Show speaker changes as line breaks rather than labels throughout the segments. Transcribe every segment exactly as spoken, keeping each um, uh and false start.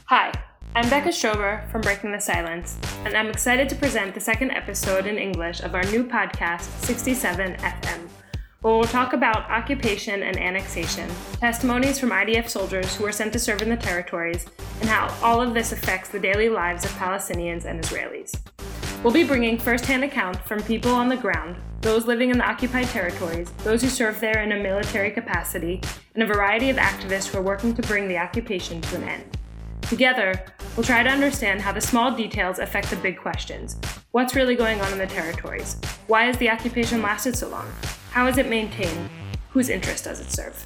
Hi, I'm Becca Strober from Breaking the Silence, and I'm excited to present the second episode in English of our new podcast, sixty-seven F M, where we'll talk about occupation and annexation, testimonies from I D F soldiers who were sent to serve in the territories, and how all of this affects the daily lives of Palestinians and Israelis. We'll be bringing first-hand accounts from people on the ground, those living in the occupied territories, those who serve there in a military capacity, and a variety of activists who are working to bring the occupation to an end. Together, we'll try to understand how the small details affect the big questions. What's really going on in the territories? Why has the occupation lasted so long? How is it maintained? Whose interest does it serve?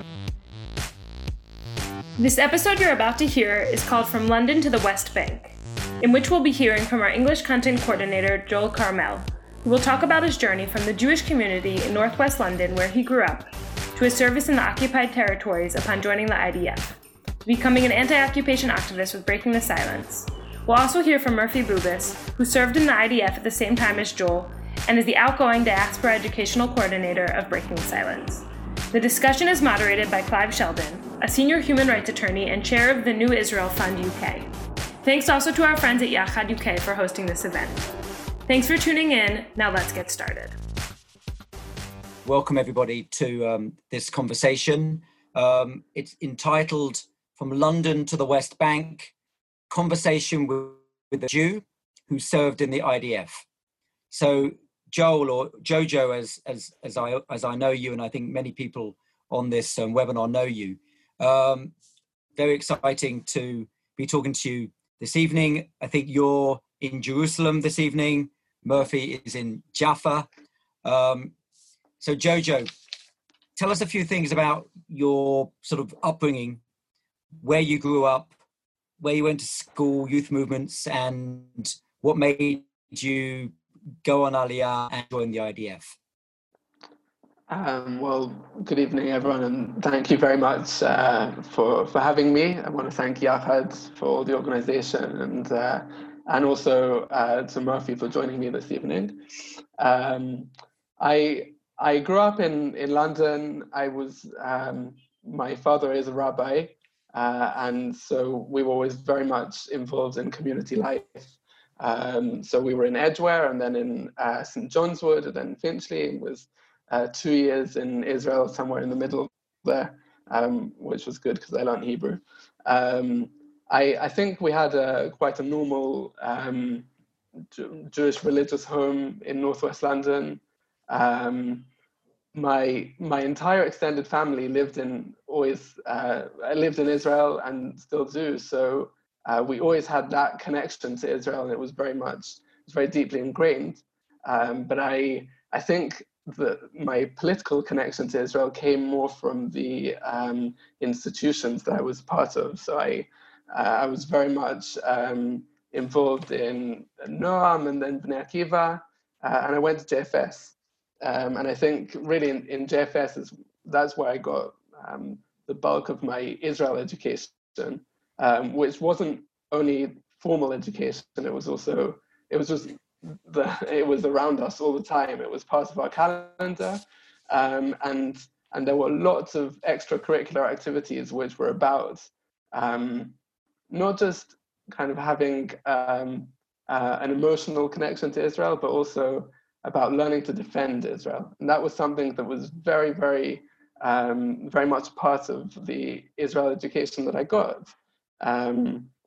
This episode you're about to hear is called From London to the West Bank, in which we'll be hearing from our English content coordinator, Joel Carmel, who will talk about his journey from the Jewish community in northwest London, where he grew up, to his service in the occupied territories upon joining the I D F, to becoming an anti-occupation activist with Breaking the Silence. We'll also hear from Murphy Bubis, who served in the I D F at the same time as Joel, and is the outgoing diaspora educational coordinator of Breaking the Silence. The discussion is moderated by Clive Sheldon, a senior human rights attorney and chair of the New Israel Fund U K. Thanks also to our friends at Yachad U K for hosting this event. Thanks for tuning in. Now let's get started.
Welcome everybody to um, this conversation. Um, it's entitled From London to the West Bank, Conversation with, with a Jew who served in the I D F. So Joel, or Jojo, as as as I as I know you, and I think many people on this um, webinar know you. Um, very exciting to be talking to you this evening. I think you're in Jerusalem this evening. Murphy is in Jaffa. Um, so Jojo, tell us a few things about your sort of upbringing, where you grew up, where you went to school, youth movements, and what made you go on Aliyah and join the I D F.
Um, well, good evening, everyone, and thank you very much uh, for for having me. I want to thank Yachad for the organisation, and uh, and also uh, to Murphy for joining me this evening. Um, I I grew up in in London. I was um, my father is a rabbi, uh, and so we were always very much involved in community life. Um, so we were in Edgware, and then in uh, Saint John's Wood, and then Finchley, and was Uh, two years in Israel, somewhere in the middle there, um, which was good because I learned Hebrew. Um, I, I think we had a, quite a normal um, Jew- Jewish religious home in northwest London. Um, my my entire extended family lived in always uh, lived in Israel and still do. So uh, we always had that connection to Israel, and it was very much it was very deeply ingrained. Um, but I I think that my political connection to Israel came more from the um, institutions that I was part of. So I uh, I was very much um, involved in Noam and then Bnei Akiva, uh, and I went to J F S. Um, and I think really in, in J F S is that's where I got um, the bulk of my Israel education, um, which wasn't only formal education. It was also it was just the it was around us all the time. It was part of our calendar, um, and and there were lots of extracurricular activities which were about um, not just kind of having um, uh, an emotional connection to Israel, but also about learning to defend Israel. And that was something that was very, very, um, very much part of the Israel education that I got. Um,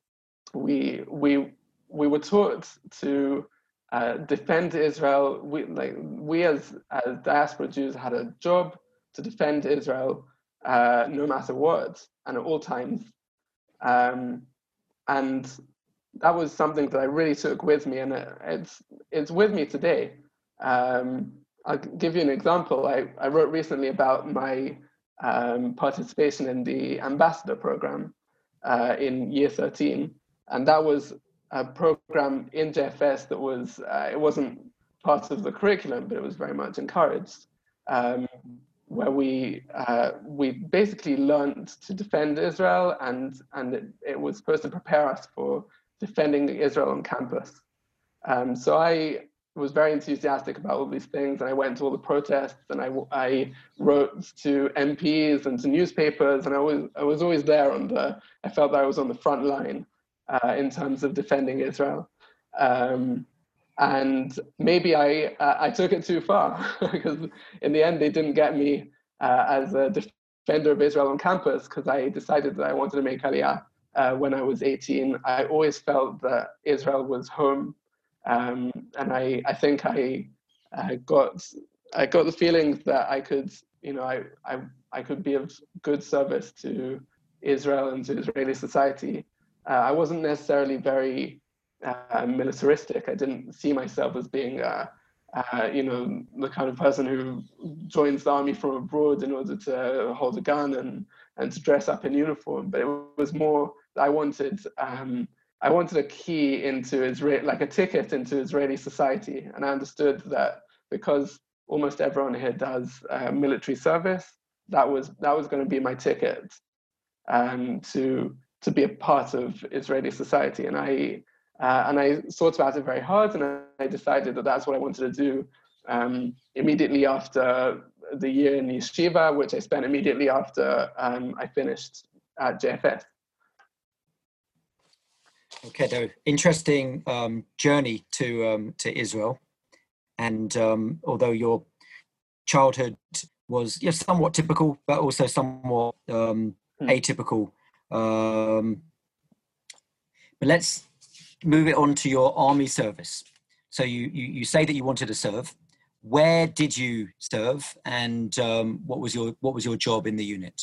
we we we were taught to uh, defend Israel. We like we as as diaspora Jews had a job to defend Israel, uh, no matter what, and at all times. Um, and that was something that I really took with me, and it, it's it's with me today. Um, I'll give you an example. I, I wrote recently about my um, participation in the ambassador program uh, in year thirteen, and that was a program in J F S that was uh, it wasn't part of the curriculum, but it was very much encouraged, um, where we uh, we basically learned to defend Israel, and and it, it was supposed to prepare us for defending Israel on campus. Um, so I was very enthusiastic about all these things, and I went to all the protests, and I, I wrote to M Ps and to newspapers, and I was I was always there on the. I felt that I was on the front line uh, in terms of defending Israel, um, and maybe I uh, I took it too far because in the end they didn't get me uh, as a defender of Israel on campus because I decided that I wanted to make Aliyah uh, when I was eighteen. I always felt that Israel was home. Um, and I, I think I, I got, I got the feeling that I could, you know, I, I, I could be of good service to Israel and to Israeli society. Uh, I wasn't necessarily very uh, militaristic. I didn't see myself as being, uh, uh, you know, the kind of person who joins the army from abroad in order to hold a gun and and to dress up in uniform. But it was more I wanted. Um, I wanted a key into Israel, like a ticket into Israeli society. And I understood that because almost everyone here does uh, military service, that was that was going to be my ticket um, to to be a part of Israeli society. And I uh, and I thought about it very hard, and I decided that that's what I wanted to do um, immediately after the year in yeshiva, which I spent immediately after um, I finished at J F S.
Okay, though, interesting um, journey to um, to Israel, and um, although your childhood was yeah, somewhat typical, but also somewhat um, mm. atypical. Um, but let's move it on to your army service. So you you, you say that you wanted to serve. Where did you serve, and um, what was your what was your job in the unit?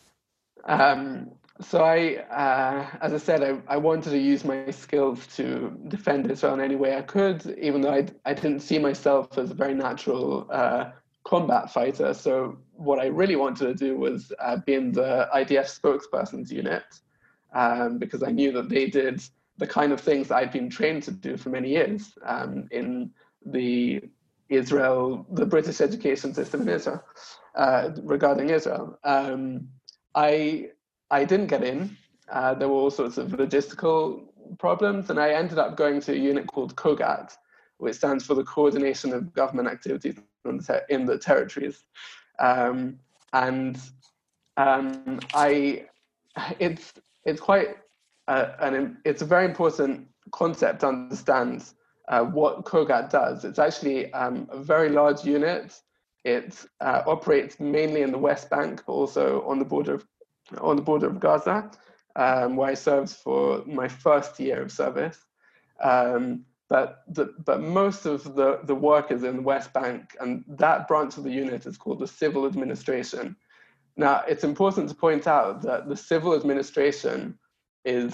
Um, So I, uh, as I said, I, I wanted to use my skills to defend Israel in any way I could, even though I, I didn't see myself as a very natural uh, combat fighter. So what I really wanted to do was uh, be in the I D F spokesperson's unit, um, because I knew that they did the kind of things that I'd been trained to do for many years um, in the Israel, the British education system in Israel, uh, regarding Israel. Um, I I didn't get in. Uh, there were all sorts of logistical problems, and I ended up going to a unit called COGAT, which stands for the Coordination of Government Activities in the Territories. Um, and um, I, it's it's quite uh, an it's a very important concept to understand uh, what COGAT does. It's actually um, a very large unit. It uh, operates mainly in the West Bank, but also on the border of on the border of Gaza, um, where I served for my first year of service. Um, but the, but most of the, the work is in the West Bank, and that branch of the unit is called the Civil Administration. Now, it's important to point out that the civil administration is,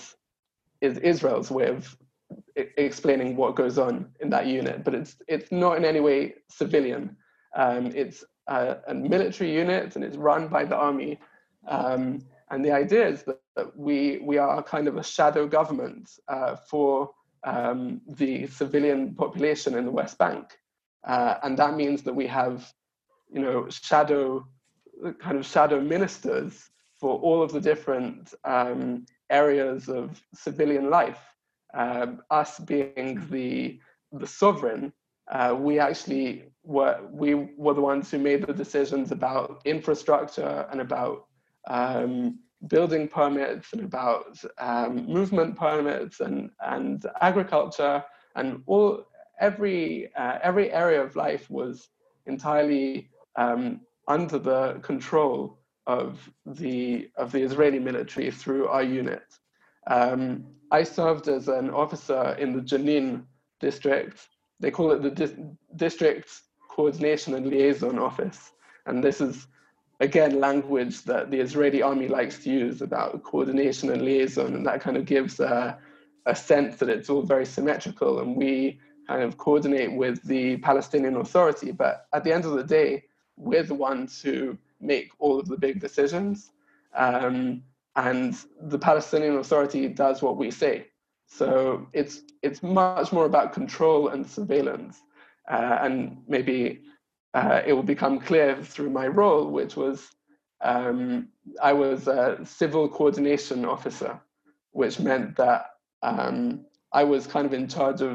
is Israel's way of I- explaining what goes on in that unit, but it's, it's not in any way civilian. Um, it's a, a military unit, and it's run by the army. Um, and the idea is that, that we we are kind of a shadow government uh, for um, the civilian population in the West Bank, uh, and that means that we have, you know, shadow kind of shadow ministers for all of the different um, areas of civilian life. Um, us being the the sovereign, uh, we actually were we were the ones who made the decisions about infrastructure and about Um, building permits and about um, movement permits and and agriculture, and all every uh, every area of life was entirely um, under the control of the of the Israeli military through our unit. Um, I served as an officer in the Jenin district. They call it the Dis- District Coordination and Liaison Office, and this is again, language that the Israeli army likes to use about coordination and liaison, and that kind of gives a, a sense that it's all very symmetrical, and we kind of coordinate with the Palestinian Authority. But at the end of the day, we're the ones who make all of the big decisions, um, and the Palestinian Authority does what we say. So it's it's much more about control and surveillance, uh, and maybe Uh, it will become clear through my role, which was um, I was a civil coordination officer, which meant that um, I was kind of in charge of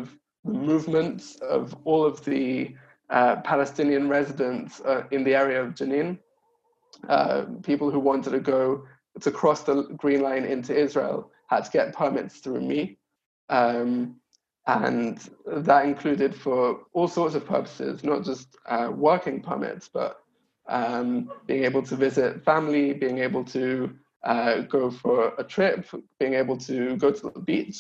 the movements of all of the uh, Palestinian residents uh, in the area of Jenin, uh, people who wanted to go to cross the Green Line into Israel had to get permits through me. Um, and that included for all sorts of purposes, not just uh, working permits, but um, being able to visit family, being able to uh, go for a trip, being able to go to the beach,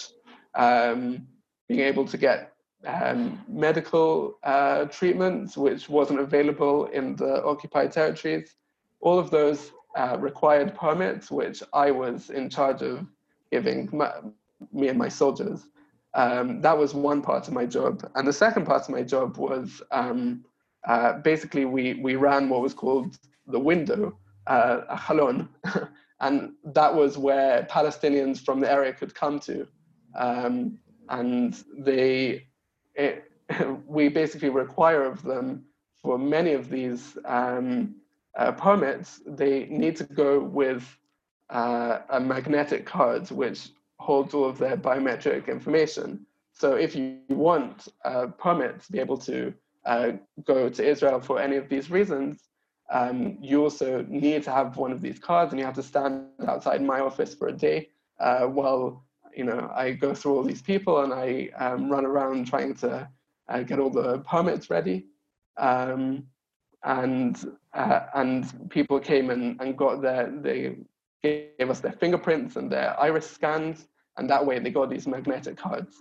um, being able to get um, medical uh, treatments, which wasn't available in the occupied territories. All of those uh, required permits, which I was in charge of giving my, me and my soldiers. Um, that was one part of my job. And the second part of my job was um, uh, basically we, we ran what was called the window, uh, a halon, and that was where Palestinians from the area could come to. Um, and they, it, we basically require of them for many of these um, uh, permits, they need to go with uh, a magnetic card, which holds all of their biometric information. So if you want a permit to be able to uh, go to Israel for any of these reasons, um, you also need to have one of these cards, and you have to stand outside my office for a day uh, while you know I go through all these people and I um, run around trying to uh, get all the permits ready. Um, and uh, and people came and, and got their, they gave us their fingerprints and their iris scans, and that way they got these magnetic cards.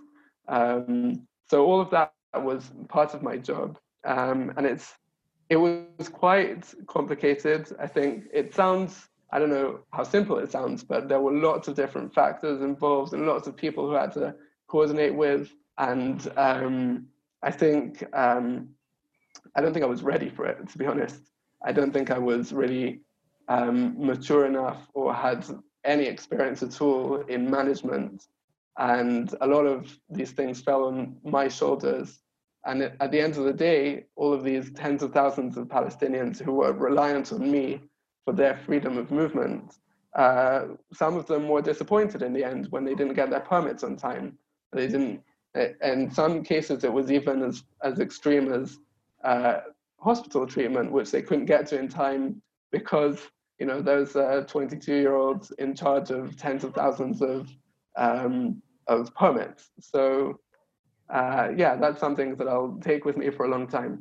Um, so all of that was part of my job, um, and it's it was quite complicated. I think it sounds, I don't know how simple it sounds, but there were lots of different factors involved and lots of people who had to coordinate with, and um, I think um, I don't think I was ready for it, to be honest. I don't think I was really um, mature enough or had any experience at all in management. And a lot of these things fell on my shoulders. And at the end of the day, all of these tens of thousands of Palestinians who were reliant on me for their freedom of movement, uh, some of them were disappointed in the end when they didn't get their permits on time. They didn't, in some cases, it was even as, as extreme as uh, hospital treatment, which they couldn't get to in time because, you know, there's a twenty-two-year-old in charge of tens of thousands of um, of permits. So, uh, yeah, that's something that I'll take with me for a long time.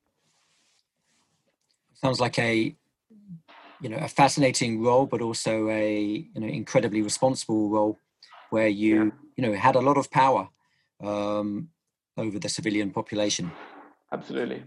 Sounds like a, you know, a fascinating role, but also a, you know, incredibly responsible role where you, yeah. you know, had a lot of power um, over the civilian population.
Absolutely.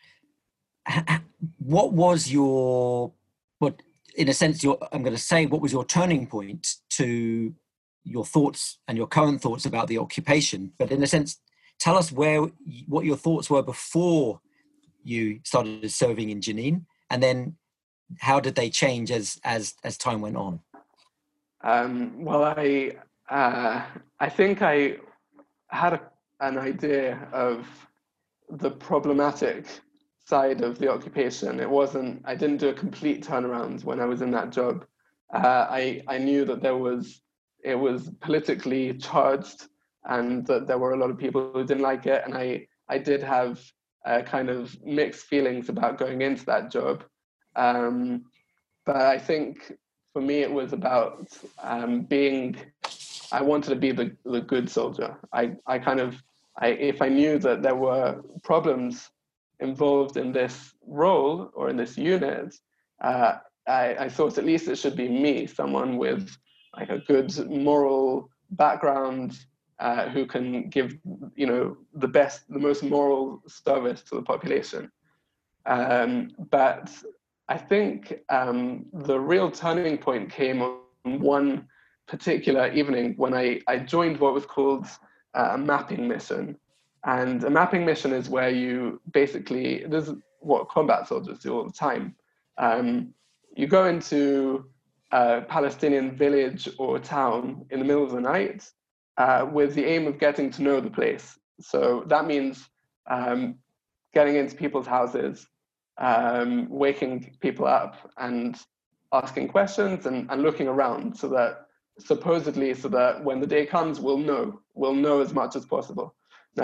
What was your, what, in a sense, your, I'm going to say, what was your turning point to your thoughts and your current thoughts about the occupation? But in a sense, tell us where, what your thoughts were before you started serving in Jenin, and then how did they change as as as time went on?
Um, well, I uh, I think I had a, an idea of the problematic side of the occupation. It wasn't, I didn't do a complete turnaround when I was in that job. Uh, I, I knew that there was, it was politically charged and that there were a lot of people who didn't like it. And I, I did have uh, kind of mixed feelings about going into that job. Um, but I think for me, it was about um, being, I wanted to be the, the good soldier. I, I kind of, I, if I knew that there were problems involved in this role or in this unit, uh, I, I thought at least it should be me, someone with like a good moral background uh, who can give, you know, the best, the most moral service to the population. Um, but I think um, the real turning point came on one particular evening when I, I joined what was called a mapping mission. And a mapping mission is where you basically, this is what combat soldiers do all the time. Um, you go into a Palestinian village or town in the middle of the night uh, with the aim of getting to know the place. So that means um, getting into people's houses, um, waking people up and asking questions and, and looking around so that supposedly so that when the day comes, we'll know, we'll know as much as possible. Now,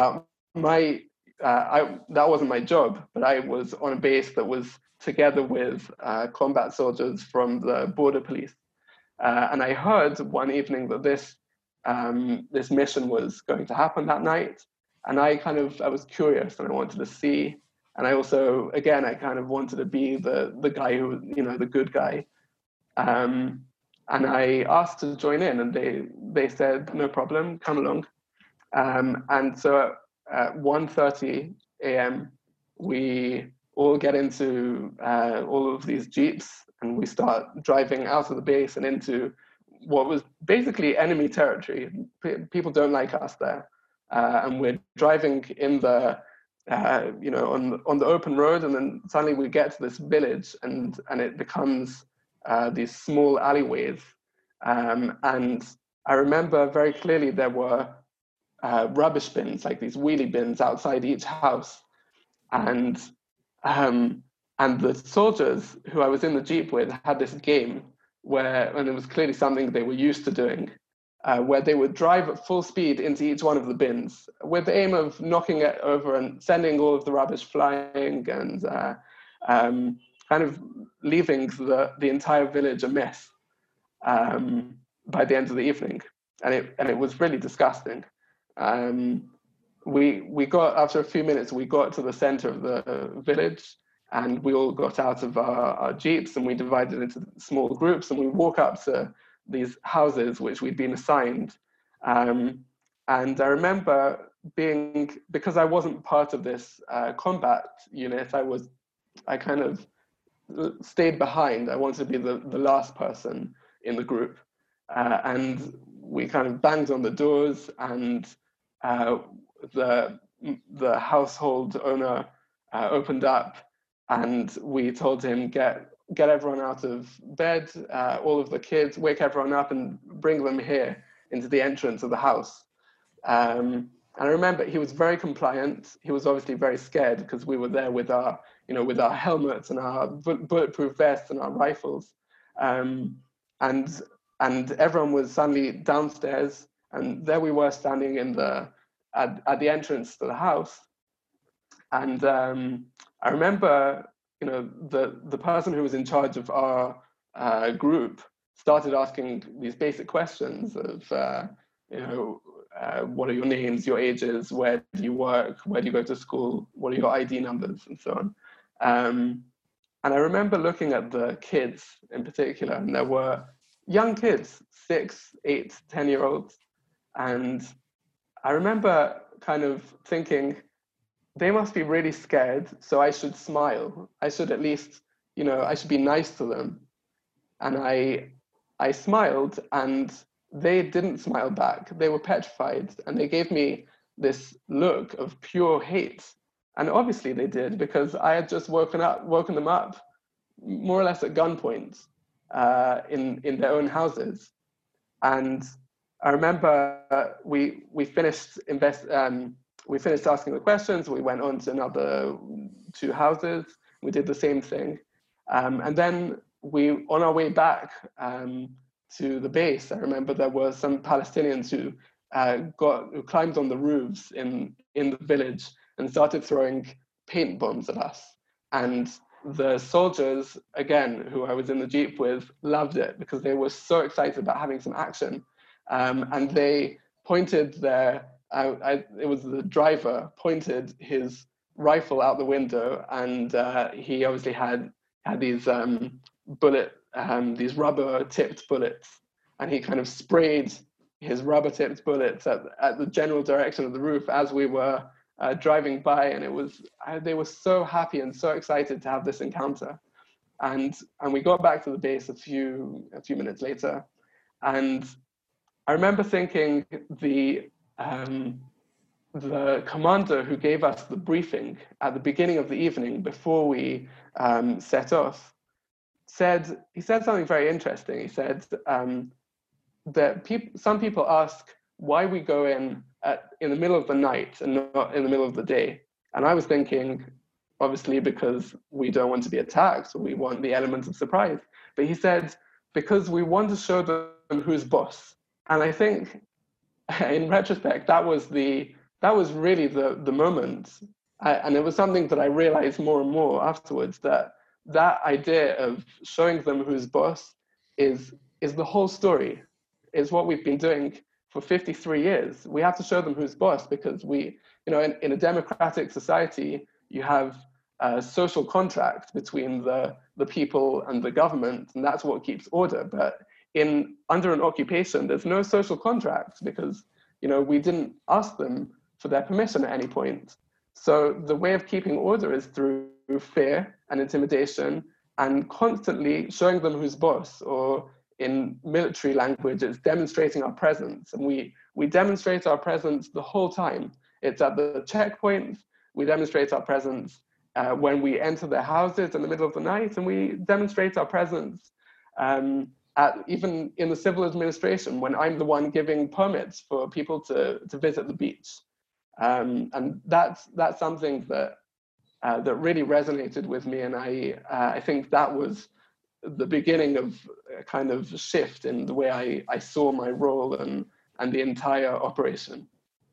my uh, I that wasn't my job, but I was on a base that was together with uh, combat soldiers from the border police, uh, and I heard one evening that this um, this mission was going to happen that night, and I kind of I was curious and I wanted to see, and I also again I kind of wanted to be the the guy who you know the good guy, um, and I asked to join in, and they they said no problem, come along, um, and so. At one thirty a.m., we all get into uh, all of these Jeeps and we start driving out of the base and into what was basically enemy territory. P- people don't like us there. Uh, and we're driving in the, uh, you know, on, on the open road, and then suddenly we get to this village and, and it becomes uh, these small alleyways. Um, and I remember very clearly there were Uh, rubbish bins, like these wheelie bins outside each house. And um, and the soldiers who I was in the Jeep with had this game where, and it was clearly something they were used to doing, uh, where they would drive at full speed into each one of the bins with the aim of knocking it over and sending all of the rubbish flying and uh, um, kind of leaving the, the entire village a mess um, by the end of the evening. And it, and it was really disgusting. Um, we we got after a few minutes we got to the center of the village, and we all got out of our, our jeeps and we divided into small groups and we walk up to these houses which we'd been assigned, um, and I remember being, because I wasn't part of this uh, combat unit, I was I kind of stayed behind. I wanted to be the, the last person in the group, uh, and we kind of banged on the doors, and uh, the the household owner uh, opened up, and we told him get get everyone out of bed, uh, all of the kids, wake everyone up, and bring them here into the entrance of the house. Um, and I remember he was very compliant. He was obviously very scared because we were there with our you know with our helmets and our bulletproof vests and our rifles, um, and. And everyone was suddenly downstairs, and there we were standing in the at, at the entrance to the house. And um, I remember, you know, the the person who was in charge of our uh, group started asking these basic questions of, uh, you know, uh, what are your names, your ages, where do you work, where do you go to school, what are your I D numbers, and so on. Um, and I remember looking at the kids in particular, and there were young kids, six, eight, ten-year-olds. And I remember kind of thinking, they must be really scared, so I should smile. I should at least, you know, I should be nice to them. And I, I smiled, and they didn't smile back. They were petrified, and they gave me this look of pure hate. And obviously they did, because I had just woken up, woken them up, more or less at gunpoint. Uh, in in their own houses, and I remember uh, we we finished invest um, we finished asking the questions. We went on to another two houses. We did the same thing, um, and then we on our way back um, to the base. I remember there were some Palestinians who uh, got who climbed on the roofs in in the village and started throwing paint bombs at us, and the soldiers, again, who I was in the Jeep with, loved it because they were so excited about having some action. Um, and they pointed their, I, I, it was the driver, pointed his rifle out the window, and uh, he obviously had, had these um, bullet, um, these rubber tipped bullets, and he kind of sprayed his rubber tipped bullets at, at the general direction of the roof as we were Uh, driving by, and it was I, they were so happy and so excited to have this encounter, and and we got back to the base a few a few minutes later, and I remember thinking the um, the commander who gave us the briefing at the beginning of the evening before we um, set off said he said something very interesting. He said um, that people some people ask why we go in at, in the middle of the night and not in the middle of the day. And I was thinking, obviously, because we don't want to be attacked, we want the element of surprise. But he said, because we want to show them who's boss. And I think, in retrospect, that was the that was really the, the moment. I, and it was something that I realized more and more afterwards, that that idea of showing them who's boss is, is the whole story, is what we've been doing for fifty-three years. We have to show them who's boss because we, you know, in, in a democratic society, you have a social contract between the, the people and the government, and that's what keeps order. But in under an occupation, there's no social contract because, you know, we didn't ask them for their permission at any point. So the way of keeping order is through fear and intimidation and constantly showing them who's boss, or in military language, it's demonstrating our presence. And we, we demonstrate our presence the whole time. It's at the checkpoints, we demonstrate our presence uh, when we enter their houses in the middle of the night, and we demonstrate our presence um, at, even in the civil administration, when I'm the one giving permits for people to, to visit the beach. Um, and that's, that's something that, uh, that really resonated with me. And I, uh, I think that was the beginning of a kind of shift in the way I, I saw my role and, and the entire operation.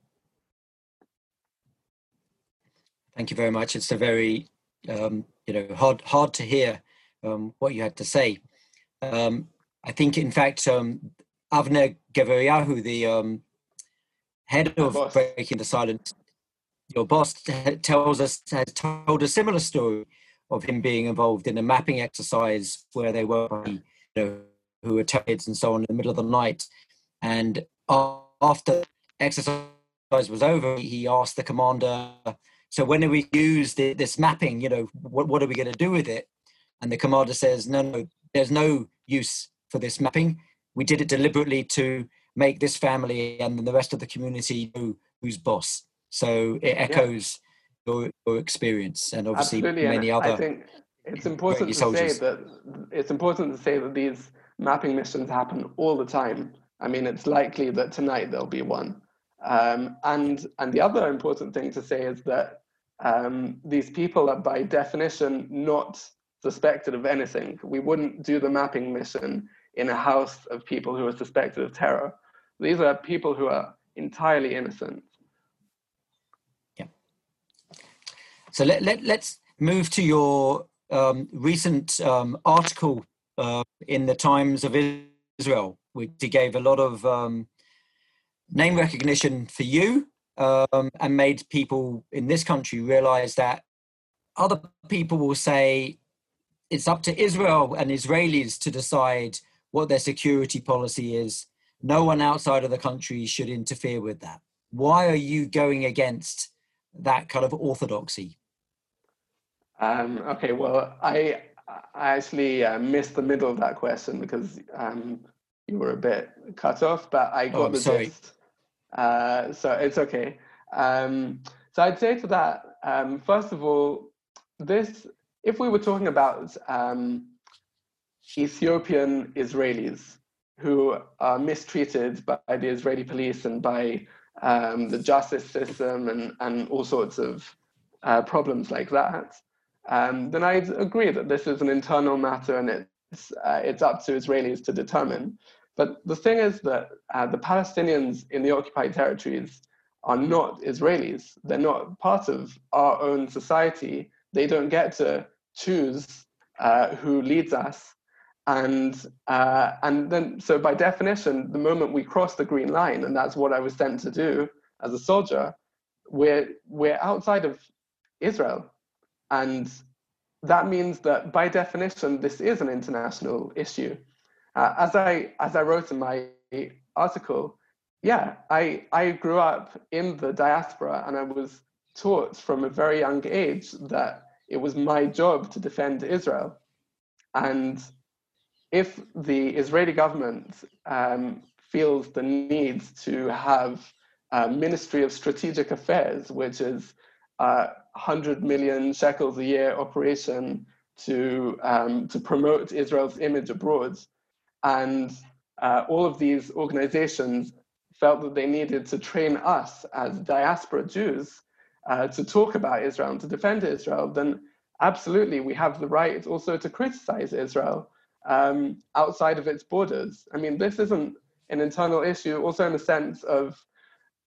Thank you very much. It's a very, um, you know, hard, hard to hear um, what you had to say. Um, I think, in fact, um, Avner Geveriyahu, the um, head of Breaking the Silence, your boss, tells us, has told a similar story of him being involved in a mapping exercise where they were, you know, who were kids and so on in the middle of the night. And after exercise was over, he asked the commander, so when do we use the, this mapping, you know, what, what are we going to do with it? And the commander says, no, no, there's no use for this mapping. We did it deliberately to make this family and the rest of the community know who's boss. So it echoes yeah. your, your experience, and obviously
Absolutely.
many
and
other.
I think it's important to say that it's important to say that these mapping missions happen all the time. I mean, it's likely that tonight there'll be one. Um, and and the other important thing to say is that um, these people are by definition not suspected of anything. We wouldn't do the mapping mission in a house of people who are suspected of terror. These are people who are entirely innocent.
Yeah. So let, let, let's move to your um, recent um, article uh, in the Times of Israel, which gave a lot of um, name recognition for you um, and made people in this country realize that other people will say it's up to Israel and Israelis to decide what their security policy is. No one outside of the country should interfere with that. Why are you going against that kind of orthodoxy?
Um, okay, well, I, I actually uh, missed the middle of that question because um, you were a bit cut off, but I got
oh,
the
sorry.
gist. Uh, so it's okay. Um, so I'd say to that, um, first of all, this, if we were talking about um, Ethiopian Israelis who are mistreated by the Israeli police and by um, the justice system and, and all sorts of uh, problems like that, um, then I'd agree that this is an internal matter and it's, uh, it's up to Israelis to determine. But the thing is that uh, the Palestinians in the occupied territories are not Israelis. They're not part of our own society. They don't get to choose uh, who leads us. And, uh, and then, so by definition, the moment we cross the green line, and that's what I was sent to do as a soldier, we're, we're outside of Israel. And that means that by definition, this is an international issue. Uh, as I as I wrote in my article, yeah, I I grew up in the diaspora and I was taught from a very young age that it was my job to defend Israel. And if the Israeli government um, feels the need to have a Ministry of Strategic Affairs, which is a hundred million shekels a year operation to um, to promote Israel's image abroad, and uh, all of these organizations felt that they needed to train us as diaspora Jews uh, to talk about Israel and to defend Israel, then absolutely we have the right also to criticize Israel um, outside of its borders. I mean, this isn't an internal issue also in the sense of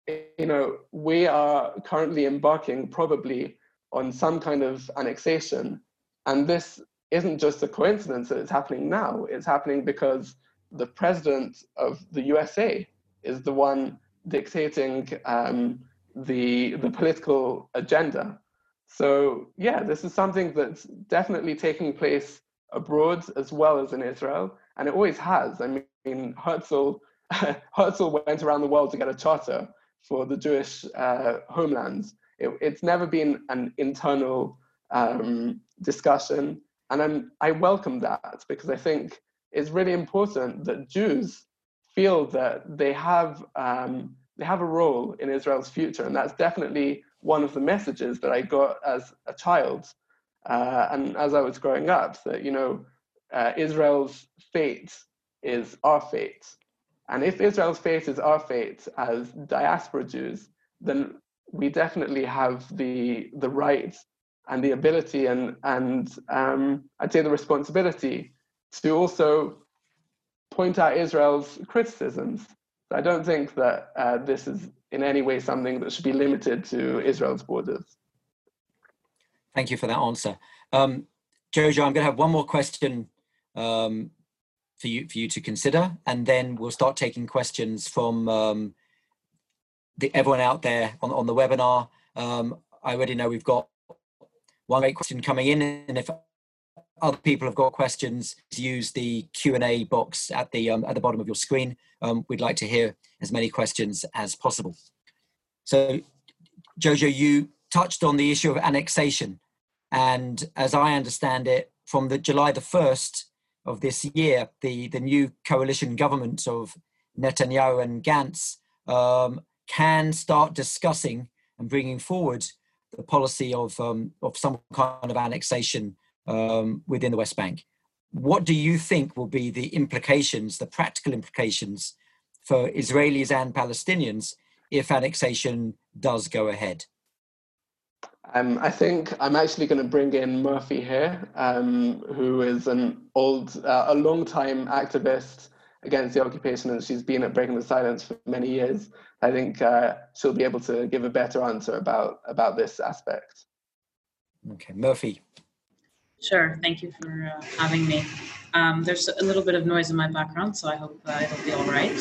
you know, we are currently embarking probably on some kind of annexation. And this isn't just a coincidence that it's happening now. It's happening because the president of the U S A is the one dictating um, the, the political agenda. So yeah, this is something that's definitely taking place abroad as well as in Israel, and it always has. I mean, Herzl, Herzl went around the world to get a charter for the Jewish uh, homelands. It, it's never been an internal um, discussion, and I'm, I welcome that, because I think it's really important that Jews feel that they have um, they have a role in Israel's future, and that's definitely one of the messages that I got as a child uh, and as I was growing up, that, you know, uh, Israel's fate is our fate. And if Israel's fate is our fate as diaspora Jews, then we definitely have the the right and the ability and, and um, I'd say the responsibility to also point out Israel's criticisms. I don't think that uh, this is in any way something that should be limited to Israel's borders.
Thank you for that answer. Um, Jojo, I'm going to have one more question um, for you for you to consider, and then we'll start taking questions from um, the, everyone out there on, on the webinar. Um, I already know we've got one great question coming in, and if other people have got questions, use the Q and A box at the um, at the bottom of your screen. Um, we'd like to hear as many questions as possible. So, Jojo, you touched on the issue of annexation, and as I understand it, from the July the first of this year, the the new coalition government of Netanyahu and Gantz um, can start discussing and bringing forward the policy of um, of some kind of annexation um, within the West Bank. What do you think will be the implications, the practical implications for Israelis and Palestinians if annexation does go ahead?
Um, I think I'm actually going to bring in Murphy here, um, who is an old, uh, a long-time activist against the occupation, and she's been at Breaking the Silence for many years. I think uh, she'll be able to give a better answer about, about this aspect.
Okay, Murphy.
Sure, thank you for uh, having me. Um, there's a little bit of noise in my background, so I hope uh, it'll be all right.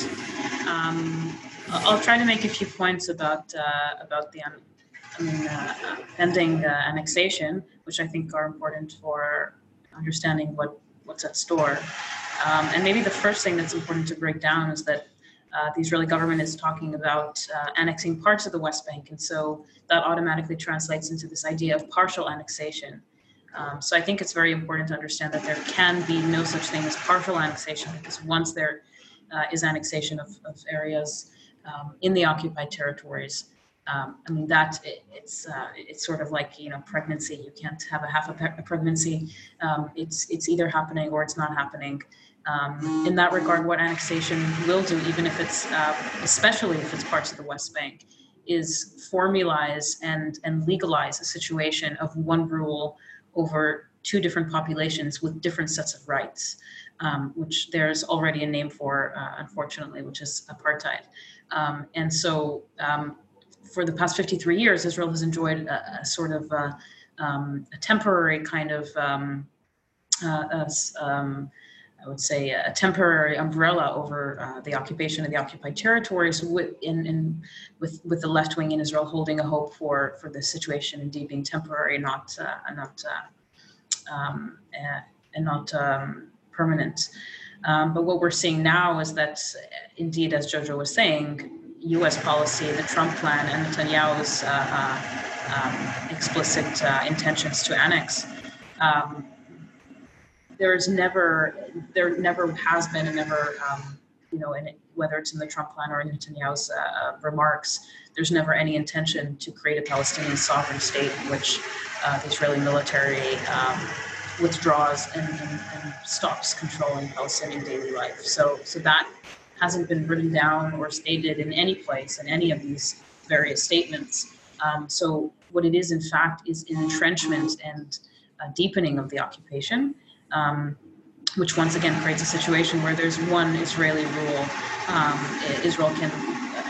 Um, I'll try to make a few points about uh, about the I mean, uh, pending uh, annexation, which I think are important for understanding what, what's at store. Um, and maybe the first thing that's important to break down is that uh, the Israeli government is talking about uh, annexing parts of the West Bank, and so that automatically translates into this idea of partial annexation. Um, so I think it's very important to understand that there can be no such thing as partial annexation, because once there uh, is annexation of, of areas um, in the occupied territories, um, I mean, that it, it's uh, it's sort of like, you know, pregnancy. You can't have a half a, pe- a pregnancy. Um, it's it's either happening or it's not happening. Um, in that regard, what annexation will do, even if it's, uh, especially if it's parts of the West Bank, is formalize and and legalize a situation of one rule over two different populations with different sets of rights, um, which there's already a name for, uh, unfortunately, which is apartheid. Um, and so um, for the past fifty-three years, Israel has enjoyed a, a sort of uh, um, a temporary kind of, um, uh, a, um, I would say, a temporary umbrella over uh, the occupation of the occupied territories, with, in, in, with, with the left wing in Israel holding a hope for, for the situation indeed being temporary, not uh, not uh, um, uh, and not um, permanent. Um, but what we're seeing now is that, indeed, as Jojo was saying, U S policy, the Trump plan, and Netanyahu's uh, uh, um, explicit uh, intentions to annex. Um, There's never, there never has been, and never, um, you know, and whether it's in the Trump plan or in Netanyahu's uh, remarks, there's never any intention to create a Palestinian sovereign state in which uh, the Israeli military um, withdraws and, and, and stops controlling Palestinian daily life. So, so that hasn't been written down or stated in any place in any of these various statements. Um, so, what it is, in fact, is an entrenchment and a deepening of the occupation. Um, which once again creates a situation where there's one Israeli rule. Um, Israel can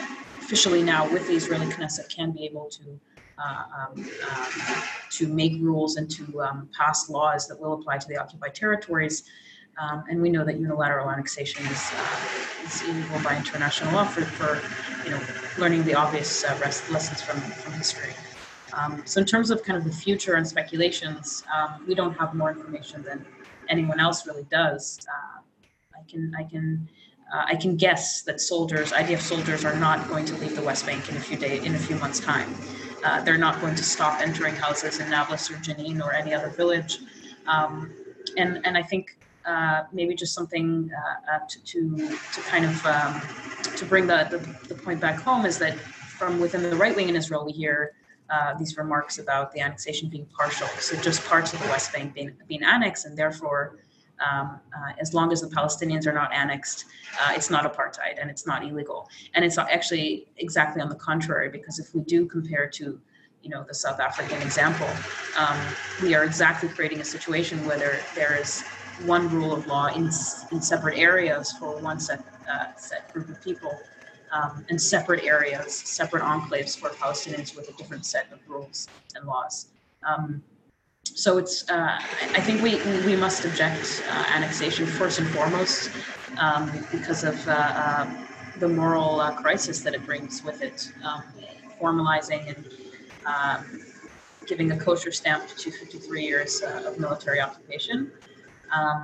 officially now with the Israeli Knesset can be able to uh, um, um, to make rules and to um, pass laws that will apply to the occupied territories. Um, and we know that unilateral annexation is, uh, is illegal by international law for, for you know, learning the obvious uh, rest, lessons from, from history. Um, so in terms of kind of the future and speculations, um, we don't have more information than anyone else really does. Uh, I can, I can, uh, I can guess that soldiers, I D F soldiers, are not going to leave the West Bank in a few days, in a few months' time. Uh, they're not going to stop entering houses in Nablus or Jenin or any other village, um, and and I think uh, maybe just something uh, uh, to, to to kind of um, to bring the, the the point back home is that from within the right wing in Israel we hear uh, these remarks about the annexation being partial, so just parts of the West Bank being being annexed, and therefore. Um, uh, as long as the Palestinians are not annexed, uh, it's not apartheid and it's not illegal. And it's actually exactly on the contrary, because if we do compare to, you know, the South African example, um, we are exactly creating a situation where there, there is one rule of law in, in separate areas for one set, uh, set group of people, um, and separate areas, separate enclaves for Palestinians with a different set of rules and laws. Um, So it's. Uh, I think we we must object uh, annexation first and foremost um, because of uh, uh, the moral uh, crisis that it brings with it, um, formalizing and um, giving a kosher stamp to fifty-three years uh, of military occupation. Um,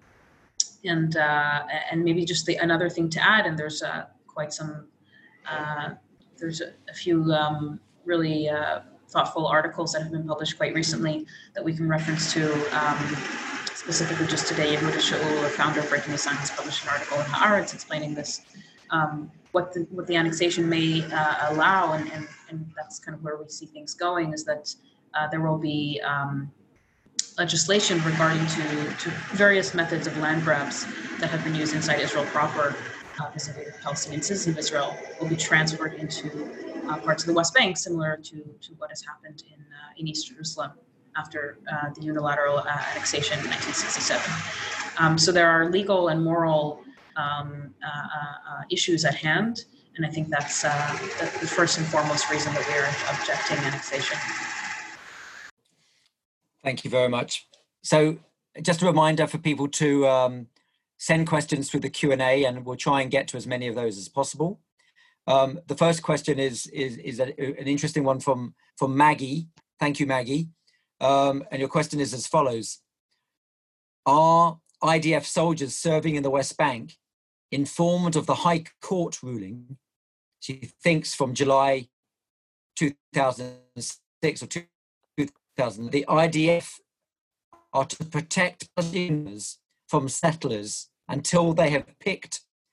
and uh, and maybe just the another thing to add, and there's uh, quite some. Uh, there's a, a few um, really. Uh, thoughtful articles that have been published quite recently that we can reference to. Um, specifically just today, Yehuda Shaul, the founder of Breaking the Sign, has published an article in Haaretz explaining this, um, what, the, what the annexation may uh, allow, and, and, and that's kind of where we see things going, is that uh, there will be um, legislation regarding to, to various methods of land grabs that have been used inside Israel proper, uh, vis-a-vis Palestinian citizens of Israel, will be transferred into Uh, parts of the West Bank, similar to, to what has happened in uh, in East Jerusalem after uh, the unilateral uh, annexation in nineteen sixty-seven. Um, so there are legal and moral um, uh, uh, issues at hand, and I think that's, uh, that's the first and foremost reason that we are objecting annexation.
Thank you very much. So just a reminder for people to um, send questions through the Q and A, and we'll try and get to as many of those as possible. Um, the first question is is, is a, an interesting one from, from Maggie. Thank you, Maggie. Um, and your question is as follows. Are I D F soldiers serving in the West Bank informed of the High Court ruling, she thinks from July two thousand six or two thousand, the I D F are to protect Palestinians from settlers until they have picked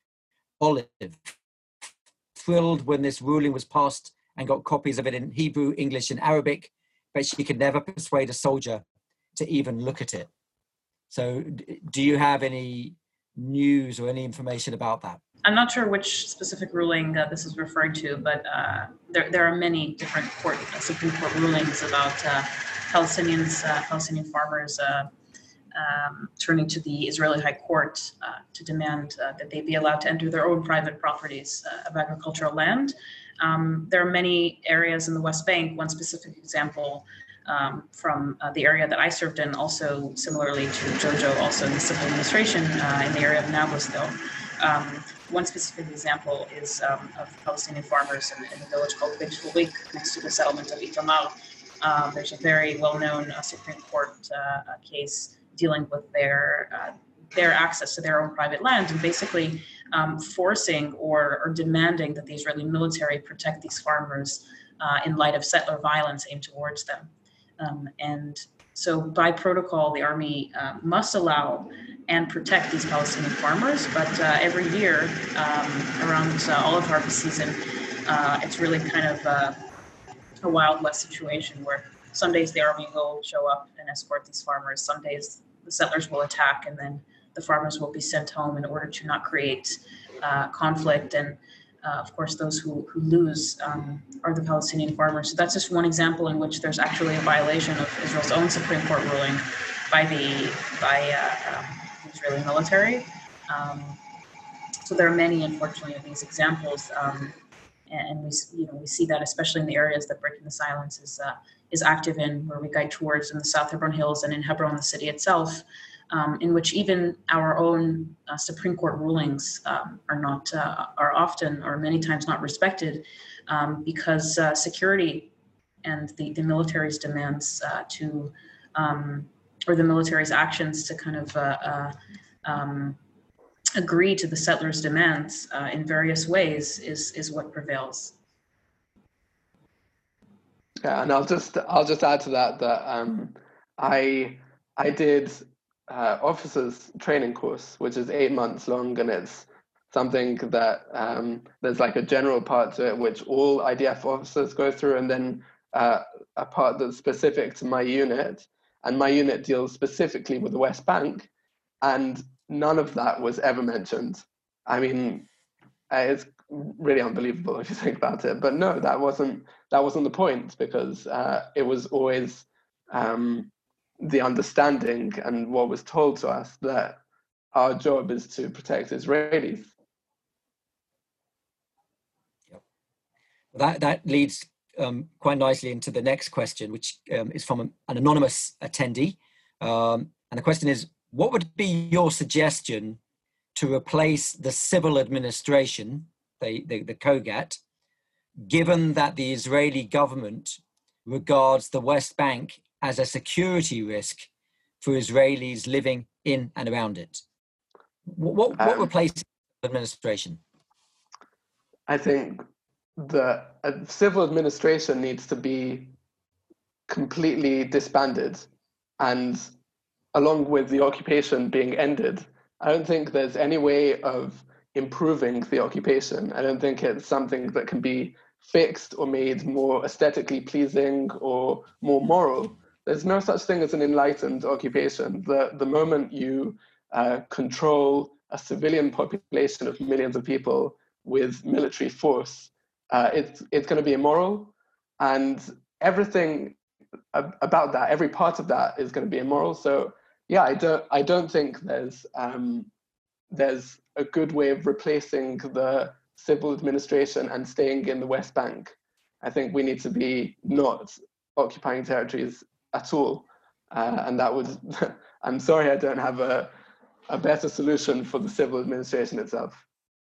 olive. Thrilled when this ruling was passed and got copies of it in Hebrew, English, and Arabic, but she could never persuade a soldier to even look at it. So do you have any news or any information about that?
I'm not sure which specific ruling uh, this is referring to, but uh, there, there are many different court, uh, Supreme Court rulings about uh, Palestinians, uh, Palestinian farmers uh, um, turning to the Israeli High Court uh, to demand uh, that they be allowed to enter their own private properties uh, of agricultural land. Um, there are many areas in the West Bank. One specific example um, from uh, the area that I served in, also similarly to Jojo, also in the civil administration uh, in the area of Nablus, though. Um, one specific example is um, of Palestinian farmers in, in a village called Beit Furik, next to the settlement of Itamar. Um, there's a very well-known uh, Supreme Court uh, case dealing with their uh, their access to their own private land, and basically um, forcing or, or demanding that the Israeli military protect these farmers uh, in light of settler violence aimed towards them. Um, and so by protocol, the army uh, must allow and protect these Palestinian farmers, but uh, every year um, around uh, olive harvest season, uh, it's really kind of uh, a Wild West situation where some days the army will show up and escort these farmers. Some days the settlers will attack, and then the farmers will be sent home in order to not create uh, conflict. And uh, of course, those who, who lose um, are the Palestinian farmers. So that's just one example in which there's actually a violation of Israel's own Supreme Court ruling by the by uh, um, the Israeli military. Um, so there are many, unfortunately, of these examples. Um, and we, you know, we see that especially in the areas that Breaking the Silence is uh, is active in, where we guide towards in the South Hebron Hills and in Hebron, the city itself, um, in which even our own uh, Supreme Court rulings um, are not uh, are often or many times not respected um, because uh, security and the the military's demands uh, to um, or the military's actions to kind of uh, uh, um, agree to the settlers' demands uh, in various ways is is what prevails.
Yeah, and I'll just I'll just add to that that um, I I did uh, officers training course, which is eight months long, and it's something that um, there's like a general part to it which all I D F officers go through, and then uh, a part that's specific to my unit, and my unit deals specifically with the West Bank, and none of that was ever mentioned. I mean, it's really unbelievable if you think about it. But no, that wasn't that wasn't the point, because uh, it was always um, the understanding and what was told to us that our job is to protect Israelis.
Yep. That that leads um, quite nicely into the next question, which um, is from an, an anonymous attendee, um, and the question is: what would be your suggestion to replace the civil administration, the, the, the Kogat, given that the Israeli government regards the West Bank as a security risk for Israelis living in and around it? What, what
Um,
replaces the administration?
I think the uh, civil administration needs to be completely disbanded, and along with the occupation being ended. I don't think there's any way of improving the occupation. I don't think it's something that can be fixed or made more aesthetically pleasing or more moral. There's no such thing as an enlightened occupation. The, the moment you uh, control a civilian population of millions of people with military force, uh, it's, it's going to be immoral. And everything about that, every part of that is going to be immoral. So yeah, I don't I don't think there's um, there's a good way of replacing the civil administration and staying in the West Bank. I think we need to be not occupying territories at all, uh, and that would. I'm sorry, I don't have a a better solution for the civil administration itself.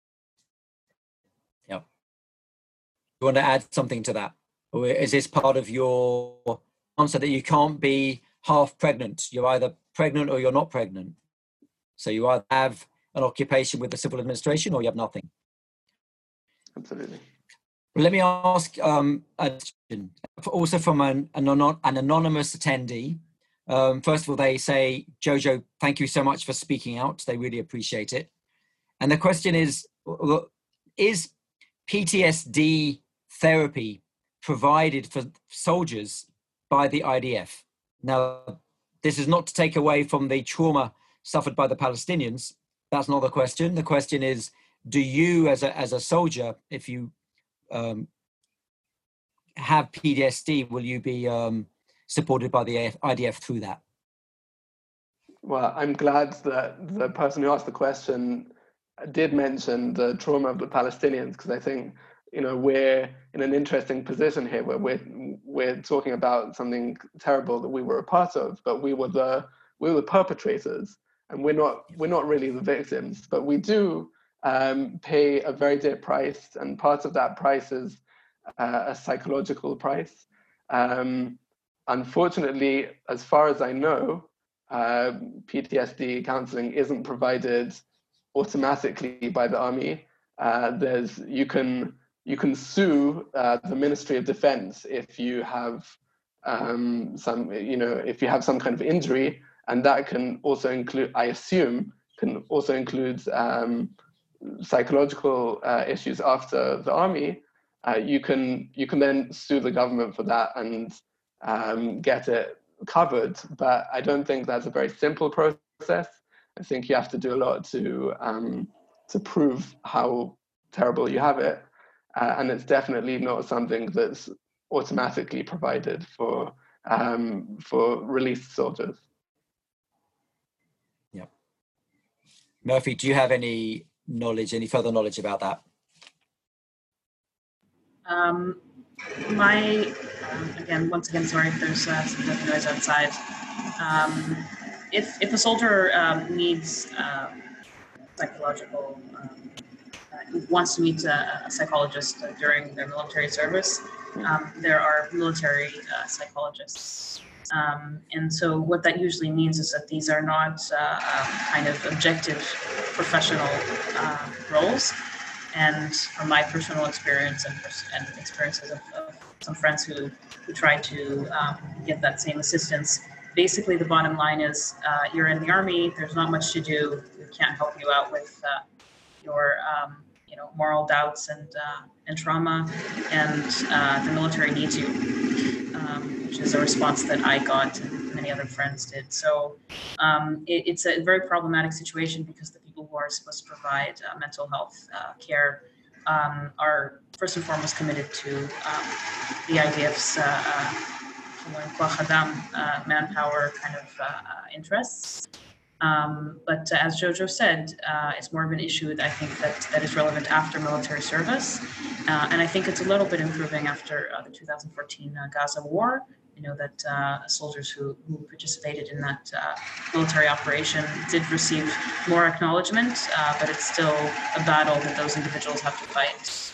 Yeah. You want to add something to that, or is this part of your answer that you can't be half pregnant? You're either pregnant or you're not pregnant. So you either have an occupation with the civil administration or you have nothing.
Absolutely.
Let me ask um, a question, also from an, an, an anonymous attendee. Um, first of all, they say, Jojo, thank you so much for speaking out. They really appreciate it. And the question is, is P T S D therapy provided for soldiers by the I D F? Now, this is not to take away from the trauma suffered by the Palestinians. That's not the question. The question is, do you as a, as a soldier, if you um, have P T S D, will you be um, supported by the I D F through that?
Well, I'm glad that the person who asked the question did mention the trauma of the Palestinians, because I think, you know, we're in an interesting position here where we're we're talking about something terrible that we were a part of, but we were the we were the perpetrators, and we're not we're not really the victims, but we do um, pay a very dear price, and part of that price is uh, a psychological price. Um, unfortunately, as far as I know, uh, P T S D counseling isn't provided automatically by the army. Uh, there's you can you can sue uh, the Ministry of Defense if you have um, some you know if you have some kind of injury, and that can also include, I assume, can also include um, psychological uh, issues after the army. Uh, you can you can then sue the government for that and um, get it covered, but I don't think that's a very simple process. I think you have to do a lot to um, to prove how terrible you have it, uh, and it's definitely not something that's automatically provided for um, for released soldiers.
Yeah. Murphy, do you have any knowledge, any further knowledge about that?
Um, my, um, again, once again, sorry if there's uh, some noise outside. Um, if, if a soldier um, needs uh, psychological, um, uh, wants to meet a, a psychologist uh, during their military service, um, there are military uh, psychologists. Um, and so what that usually means is that these are not uh, um, kind of objective professional uh, roles. And from my personal experience and, and experiences of, of some friends who, who try to um, get that same assistance, basically the bottom line is uh, you're in the army, there's not much to do, we can't help you out with uh, your um, you know, moral doubts and, uh, and trauma, and uh, the military needs you, um, which is a response that I got and many other friends did. So um, it, it's a very problematic situation because the people who are supposed to provide uh, mental health uh, care um, are first and foremost committed to um, the I D F's uh, uh, manpower kind of uh, uh, interests. Um, but uh, as Jojo said, uh, it's more of an issue, I think, that, that is relevant after military service. Uh, and I think it's a little bit improving after uh, the two thousand fourteen uh, Gaza war. You know, that uh, soldiers who, who participated in that uh, military operation did receive more acknowledgement, uh, but it's still a battle that those individuals have to fight.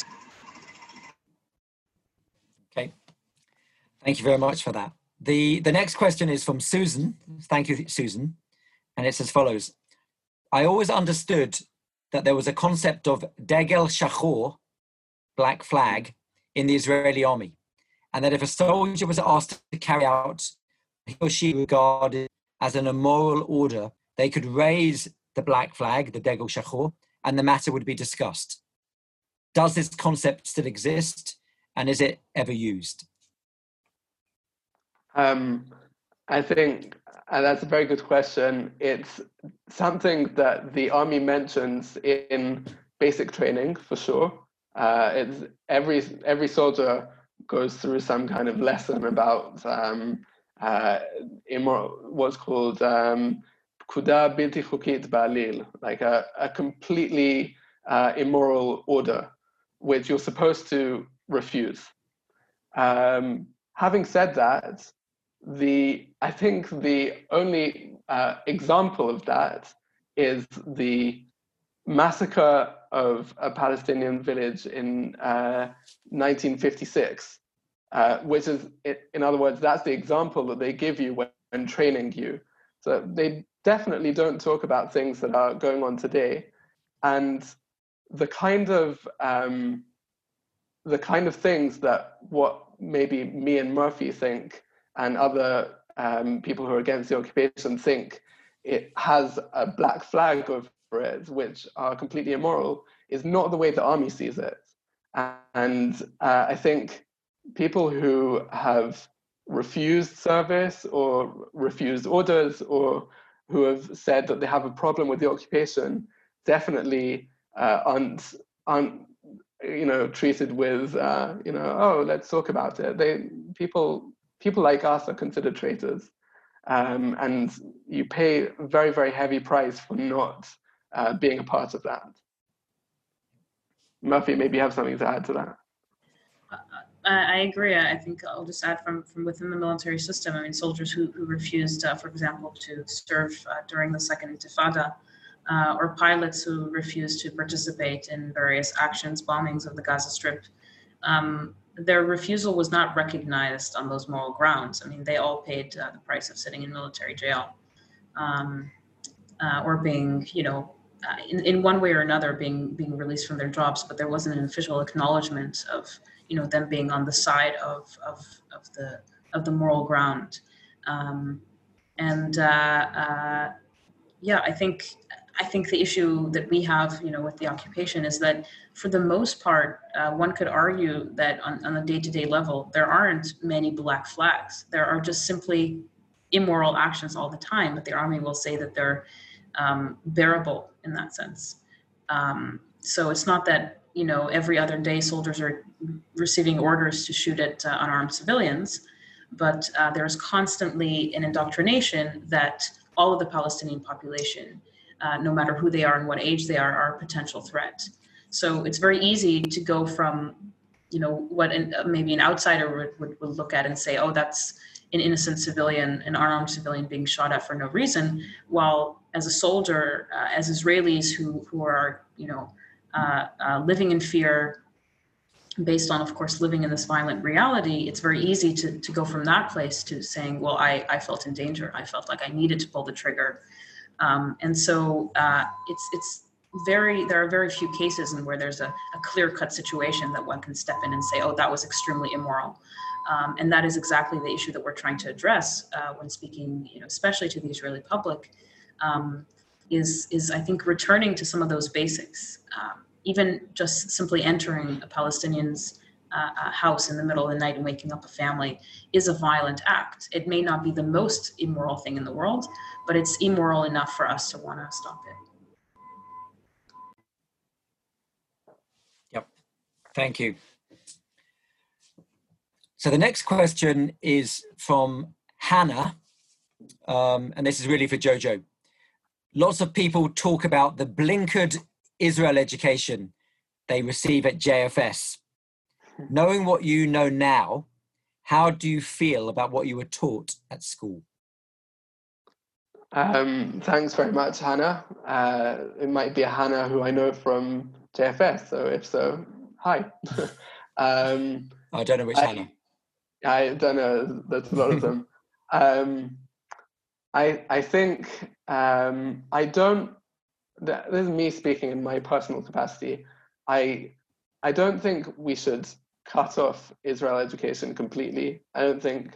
Okay, thank you very much for that. The, the next question is from Susan. Thank you, Susan. And it's as follows. I always understood that there was a concept of Degel Shachor, black flag, in the Israeli army. And that if a soldier was asked to carry out he or she regarded as an immoral order, they could raise the black flag, the Degel Shachor, and the matter would be discussed. Does this concept still exist? And is it ever used?
Um, I think and that's a very good question. It's something that the army mentions in basic training, for sure. Uh, it's every every soldier goes through some kind of lesson about um, uh, immoral, what's called um, pkuda bilti chukit ba'alil, like a, a completely uh, immoral order, which you're supposed to refuse. Um, having said that, the I think the only uh, example of that is the massacre of a Palestinian village in uh, nineteen fifty-six, uh, which is, in other words, that's the example that they give you when, when training you. So they definitely don't talk about things that are going on today, and the kind of um, the kind of things that what maybe me and Murphy think and other um, people who are against the occupation think it has a black flag over it, which are completely immoral, is not the way the army sees it. And uh, I think people who have refused service or refused orders or who have said that they have a problem with the occupation definitely uh, aren't, aren't you know, treated with, uh, you know, oh, let's talk about it. They, people, people like us are considered traitors. Um, and you pay a very, very heavy price for not uh, being a part of that. Murphy, maybe you have something to add to that.
Uh, I agree. I think I'll just add from, from within the military system. I mean, soldiers who, who refused, uh, for example, to serve uh, during the Second Intifada, uh, or pilots who refused to participate in various actions, bombings of the Gaza Strip. Um, their refusal was not recognized on those moral grounds. I mean, they all paid uh, the price of sitting in military jail, um, uh, or being, you know, uh, in, in one way or another being being released from their jobs, but there wasn't an official acknowledgement of, you know, them being on the side of of, of the of the moral ground. Um, and uh, uh, yeah, I think I think the issue that we have, you know, with the occupation is that for the most part, uh, one could argue that on, on a day-to-day level, there aren't many black flags. There are just simply immoral actions all the time, but the army will say that they're um, bearable in that sense. Um, so it's not that, you know, every other day soldiers are receiving orders to shoot at uh, unarmed civilians, but uh, there's constantly an indoctrination that all of the Palestinian population, Uh, no matter who they are and what age they are, are a potential threat. So it's very easy to go from you know, what an, maybe an outsider would, would, would look at and say, oh, that's an innocent civilian, an unarmed civilian being shot at for no reason. While as a soldier, uh, as Israelis who, who are, you know, uh, uh, living in fear, based on, of course, living in this violent reality, it's very easy to, to go from that place to saying, well, I, I felt in danger. I felt like I needed to pull the trigger. Um, and so uh, it's, it's very, there are very few cases in where there's a, a clear-cut situation that one can step in and say, oh, that was extremely immoral. Um, and that is exactly the issue that we're trying to address uh, when speaking, you know, especially to the Israeli public, um, is, is, I think, returning to some of those basics. Um, even just simply entering a Palestinian's uh, house in the middle of the night and waking up a family is a violent act. It may not be the most immoral thing in the world, but it's immoral enough for us to want to stop it.
Yep, thank you. So the next question is from Hannah, um, and this is really for Jojo. Lots of people talk about the blinkered Israel education they receive at J F S. Knowing what you know now, how do you feel about what you were taught at school?
Um, thanks very much, Hannah. Uh, it might be a Hannah who I know from J F S, so if so, hi. um,
I don't know which
I,
Hannah.
I don't know, there's a lot of them. Um, I, I think um, I don't, this is me speaking in my personal capacity. I, I don't think we should cut off Israel education completely. I don't think,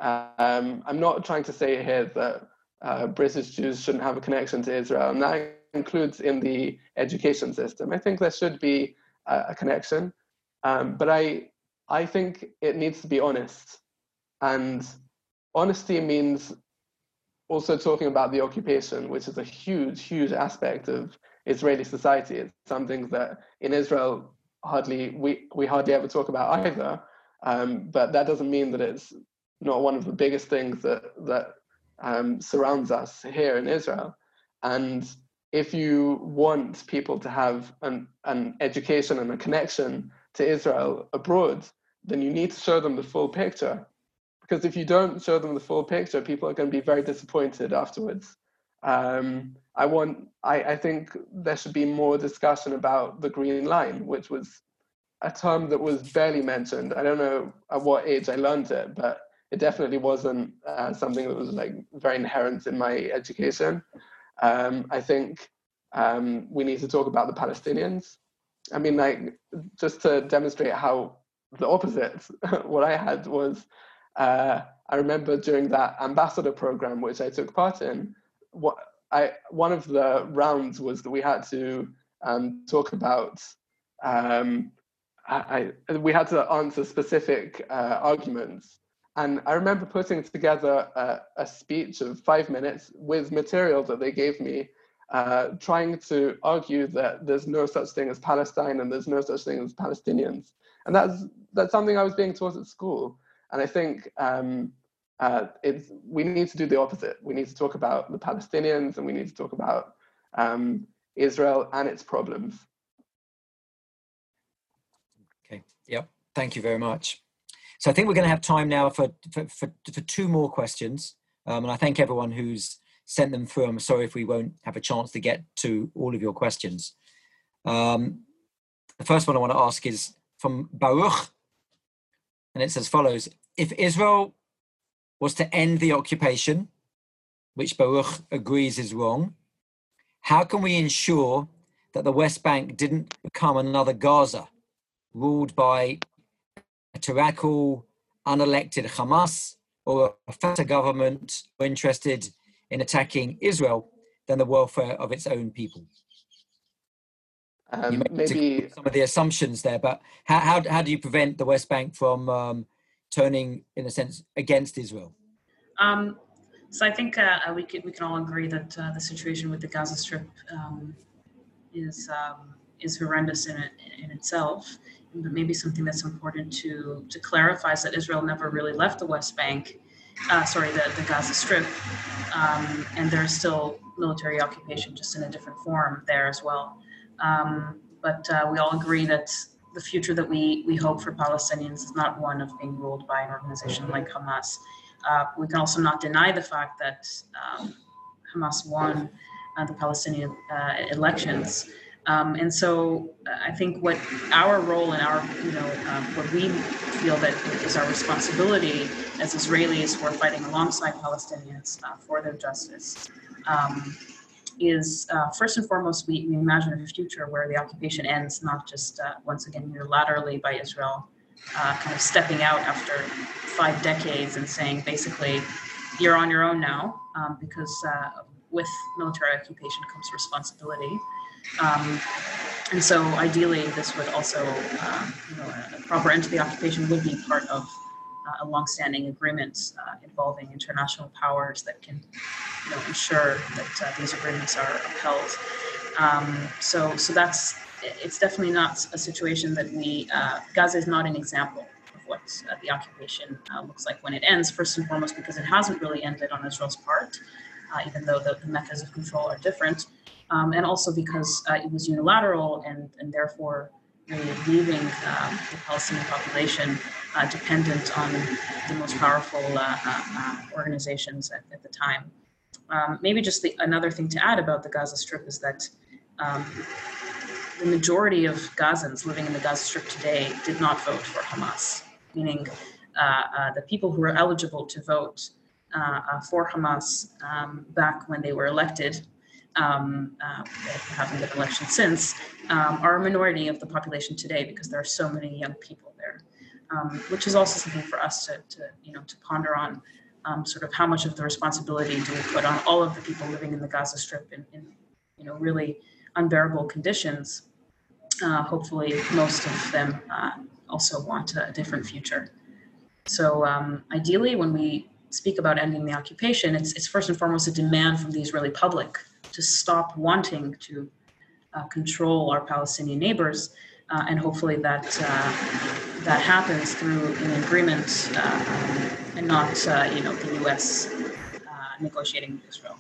um, I'm not trying to say here that uh, British Jews shouldn't have a connection to Israel, and that includes in the education system. I think there should be a, a connection, um, but I, I think it needs to be honest. And honesty means also talking about the occupation, which is a huge, huge aspect of Israeli society. It's something that in Israel hardly we, we hardly ever talk about either. Um, but that doesn't mean that it's not one of the biggest things that that um, surrounds us here in Israel. And if you want people to have an, an education and a connection to Israel abroad, then you need to show them the full picture. Because if you don't show them the full picture, people are going to be very disappointed afterwards. Um, I want. I, I think there should be more discussion about the Green Line, which was a term that was barely mentioned. I don't know at what age I learned it, but it definitely wasn't uh, something that was like very inherent in my education. Um, I think um, we need to talk about the Palestinians. I mean, like, just to demonstrate how the opposite, what I had was. Uh, I remember during that ambassador program, which I took part in, what I one of the rounds was that we had to um, talk about. Um, I, I, we had to answer specific uh, arguments, and I remember putting together a, a speech of five minutes with material that they gave me, uh, trying to argue that there's no such thing as Palestine and there's no such thing as Palestinians, and that's that's something I was being taught at school. And I think um, uh, it's, we need to do the opposite. We need to talk about the Palestinians and we need to talk about um, Israel and its problems.
Okay, yep, thank you very much. So I think we're going to have time now for, for, for, for two more questions. Um, and I thank everyone who's sent them through. I'm sorry if we won't have a chance to get to all of your questions. Um, the first one I want to ask is from Baruch. And it's as follows: if Israel was to end the occupation, which Baruch agrees is wrong, how can we ensure that the West Bank didn't become another Gaza, ruled by a tyrannical, unelected Hamas or a Fatah government interested in attacking Israel than the welfare of its own people?
Um,
you make
maybe
some of the assumptions there, but how, how, how do you prevent the West Bank from um, turning, in a sense, against Israel?
Um, so I think uh, we can we can all agree that uh, the situation with the Gaza Strip um, is um, is horrendous in it, in itself. But maybe something that's important to to clarify is that Israel never really left the West Bank, uh, sorry, the, the Gaza Strip, um, and there's still military occupation, just in a different form there as well. Um, but uh, we all agree that the future that we, we hope for Palestinians is not one of being ruled by an organization like Hamas. Uh, we can also not deny the fact that um, Hamas won uh, the Palestinian uh, elections. Um, and so uh, I think what our role and our, you know, um, what we feel that is our responsibility as Israelis who are fighting alongside Palestinians uh, for their justice um, is uh, first and foremost, we, we imagine a future where the occupation ends, not just uh, once again unilaterally by Israel, uh, kind of stepping out after five decades and saying basically, you're on your own now, um, because uh, with military occupation comes responsibility. Um, and so ideally, this would also, um, you know, a proper end to the occupation would be part of uh, a longstanding agreement uh, involving international powers that can, you know, ensure that uh, these agreements are upheld. Um, so, so that's, it's definitely not a situation that we, uh, Gaza is not an example of what uh, the occupation uh, looks like when it ends, first and foremost, because it hasn't really ended on Israel's part, uh, even though the, the methods of control are different. Um, and also because uh, it was unilateral and, and therefore really leaving um, the Palestinian population uh, dependent on the most powerful uh, uh, organizations at, at the time. Um, maybe just the, another thing to add about the Gaza Strip is that um, the majority of Gazans living in the Gaza Strip today did not vote for Hamas, meaning uh, uh, the people who were eligible to vote uh, uh, for Hamas um, back when they were elected, Um, uh, they haven't been elected since, um, are a minority of the population today because there are so many young people there, um, which is also something for us to, to you know, to ponder on, um, sort of how much of the responsibility do we put on all of the people living in the Gaza Strip in, in you know, really unbearable conditions. Uh, hopefully, most of them uh, also want a different future. So um, ideally, when we speak about ending the occupation, it's, it's first and foremost a demand from the Israeli public to stop wanting to uh, control our Palestinian neighbors, uh, and hopefully that uh, that happens through an agreement uh, um, and not, uh, you know, the U S uh, negotiating with Israel.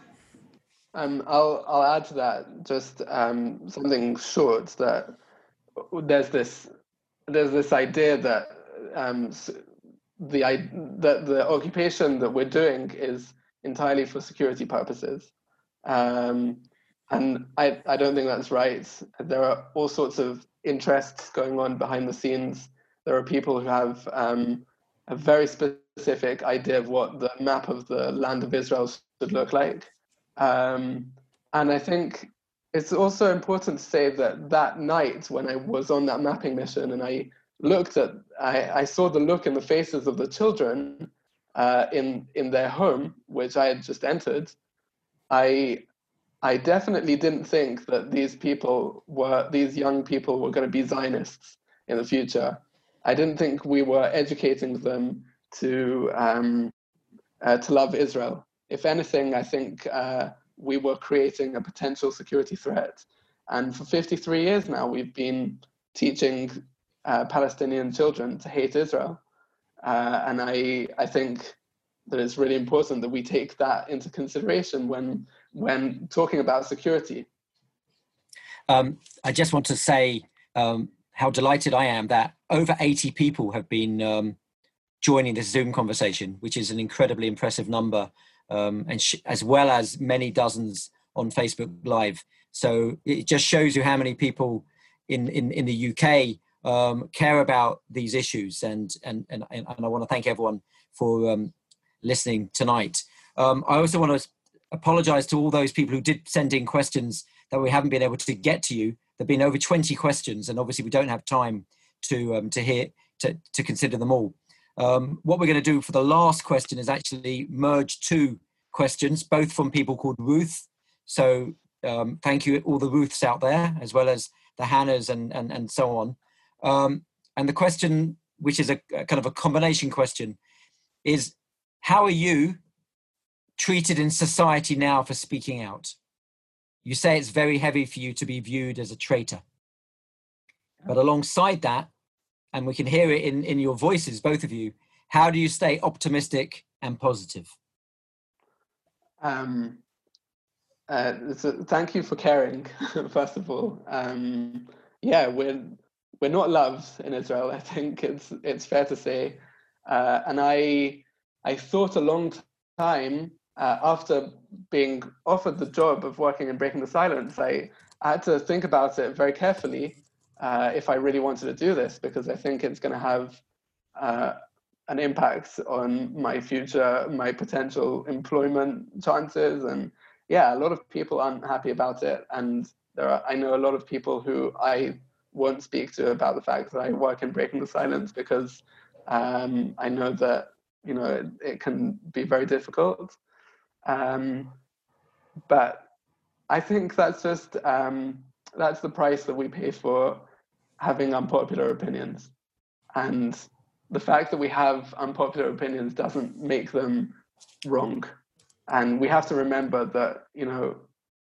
Um, I'll I'll add to that just um, something short, that there's this there's this idea that um, the that the occupation that we're doing is entirely for security purposes. Um, and I, I don't think that's right. There are all sorts of interests going on behind the scenes. There are people who have um, a very specific idea of what the map of the land of Israel should look like. Um, and I think it's also important to say that that night when I was on that mapping mission and I looked at, I, I saw the look in the faces of the children uh, in, in their home, which I had just entered, I I definitely didn't think that these people were, these young people were going to be Zionists in the future. I didn't think we were educating them to um, uh, to love Israel. If anything, I think uh, we were creating a potential security threat. And for fifty-three years now, we've been teaching uh, Palestinian children to hate Israel. Uh, and I I think that it's really important that we take that into consideration when when talking about security.
Um, I just want to say um, how delighted I am that over eighty people have been um, joining this Zoom conversation, which is an incredibly impressive number, um, and sh- as well as many dozens on Facebook Live. So it just shows you how many people in, in, in the U K um, care about these issues. And, and, and, and I want to thank everyone for um, listening tonight. Um, I also want to apologize to all those people who did send in questions that we haven't been able to get to you. There have been over twenty questions, and obviously we don't have time to um, to hear to, to consider them all. Um, what we're going to do for the last question is actually merge two questions, both from people called Ruth. So um, thank you all the Ruths out there, as well as the Hannahs and and, and so on. Um, and the question, which is a, a kind of a combination question, is how are you treated in society now for speaking out? You say it's very heavy for you to be viewed as a traitor. But alongside that, and we can hear it in, in your voices, both of you, how do you stay optimistic and positive?
Um, uh, so thank you for caring, first of all. Um, yeah, we're, we're not loved in Israel. I think it's it's fair to say, uh, and I I thought a long time uh, after being offered the job of working in Breaking the Silence, I, I had to think about it very carefully uh, if I really wanted to do this, because I think it's going to have uh, an impact on my future, my potential employment chances, and yeah, a lot of people aren't happy about it, and there are, I know a lot of people who I won't speak to about the fact that I work in Breaking the Silence, because um, I know that, you know, it, it can be very difficult. Um, but I think that's just, um, that's the price that we pay for having unpopular opinions. And the fact that we have unpopular opinions doesn't make them wrong. And we have to remember that, you know,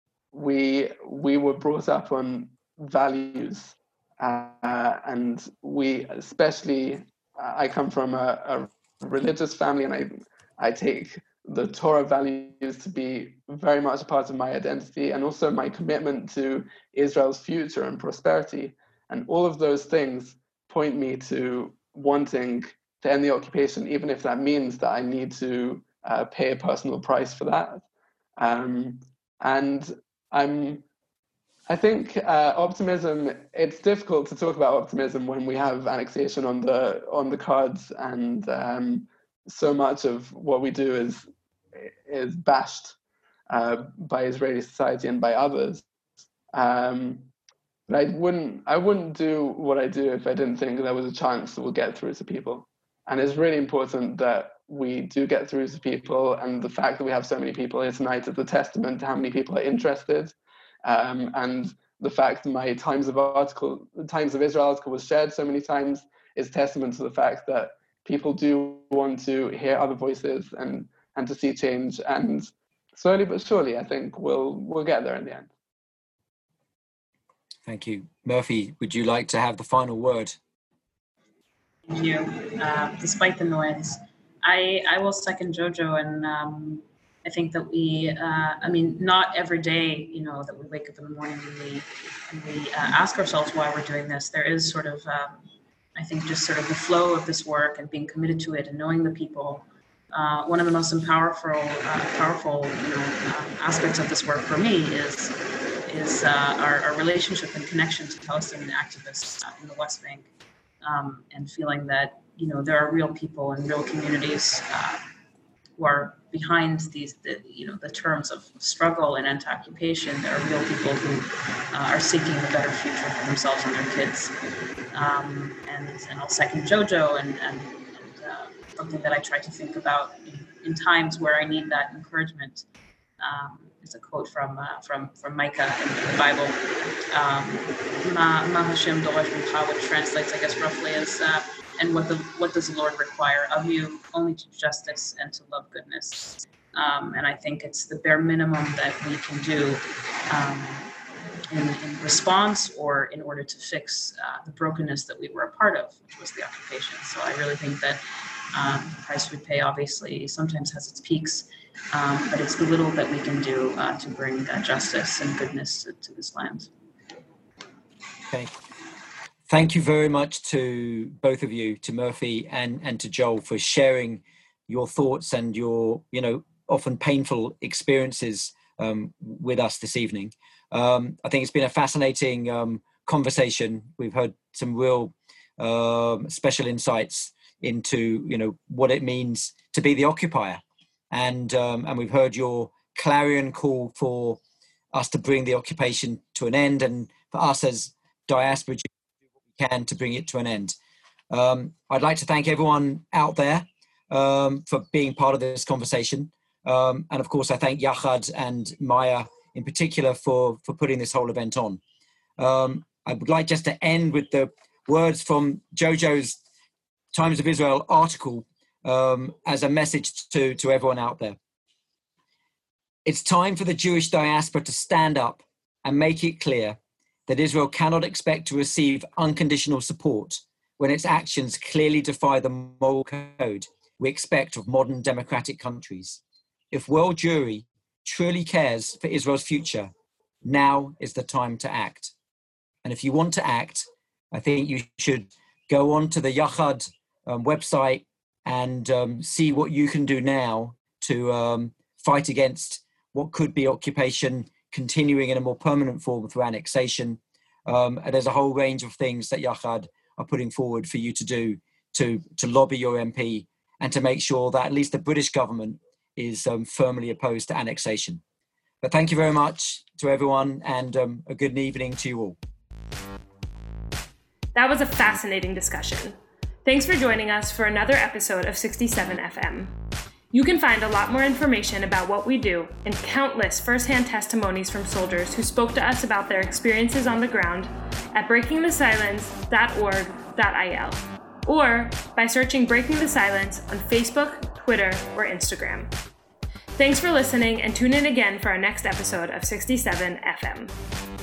we we were brought up on values, uh, and we especially, uh, I come from a, a religious family, and I I take the Torah values to be very much a part of my identity, and also my commitment to Israel's future and prosperity. And all of those things point me to wanting to end the occupation, even if that means that I need to uh, pay a personal price for that. Um, and I'm, I think uh, optimism, it's difficult to talk about optimism when we have annexation on the on the cards, and um, so much of what we do is is bashed uh, by Israeli society and by others. Um, but I wouldn't I wouldn't do what I do if I didn't think there was a chance that we'll get through to people. And it's really important that we do get through to people, and the fact that we have so many people here tonight is a testament to how many people are interested. Um, and the fact that my Times of article, the Times of Israel article was shared so many times is testament to the fact that people do want to hear other voices and and to see change. And slowly but surely, I think we'll we'll get there in the end.
Thank you. Murphy, would you like to have the final word?
Thank you. Uh, despite the noise, I, I will second Jojo, and um, I think that we, uh, I mean, not every day, you know, that we wake up in the morning and we, and we uh, ask ourselves why we're doing this. There is sort of, um, I think, just sort of the flow of this work and being committed to it and knowing the people. Uh, one of the most powerful, uh, powerful, you know, um, aspects of this work for me is is uh, our, our relationship and connection to Palestinian activists uh, in the West Bank. Um, and feeling that, you know, there are real people and real communities uh, who are behind these, the, you know, the terms of struggle and anti-occupation. There are real people who uh, are seeking a better future for themselves and their kids. Um, and, and I'll second Jojo, and, and, and uh, something that I try to think about in, in times where I need that encouragement. Um, it's a quote from uh, from from Micah in the Bible. Um, Ma Ma Hashem Dorosh Mincha, which translates, I guess, roughly as uh, and what the what does the Lord require of you? Only to justice and to love goodness. Um, and I think it's the bare minimum that we can do um, in, in response or in order to fix uh, the brokenness that we were a part of, which was the occupation. So I really think that um, the price we pay obviously sometimes has its peaks. Um, but it's the little that we can do uh, to bring uh, justice and goodness to, to this land.
Okay. Thank you very much to both of you, to Murphy and, and to Joel, for sharing your thoughts and your, you know, often painful experiences um, with us this evening. Um, I think it's been a fascinating um, conversation. We've heard some real um, special insights into, you know, what it means to be the occupier. And um, and we've heard your clarion call for us to bring the occupation to an end, and for us as diaspora to do what we can to bring it to an end. Um, I'd like to thank everyone out there um, for being part of this conversation. Um, and of course, I thank Yachad and Maya in particular for, for putting this whole event on. Um, I would like just to end with the words from Jojo's Times of Israel article, Um, as a message to, to everyone out there. It's time for the Jewish diaspora to stand up and make it clear that Israel cannot expect to receive unconditional support when its actions clearly defy the moral code we expect of modern democratic countries. If world Jewry truly cares for Israel's future, now is the time to act. And if you want to act, I think you should go on to the Yachad um, website and um, see what you can do now to um, fight against what could be occupation continuing in a more permanent form through annexation. Um, and there's a whole range of things that Yachad are putting forward for you to do to, to lobby your M P and to make sure that at least the British government is um, firmly opposed to annexation. But thank you very much to everyone, and um, a good evening to you all.
That was a fascinating discussion. Thanks for joining us for another episode of sixty-seven F M. You can find a lot more information about what we do and countless firsthand testimonies from soldiers who spoke to us about their experiences on the ground at breaking the silence dot org dot I L or by searching Breaking the Silence on Facebook, Twitter, or Instagram. Thanks for listening, and tune in again for our next episode of sixty-seven F M.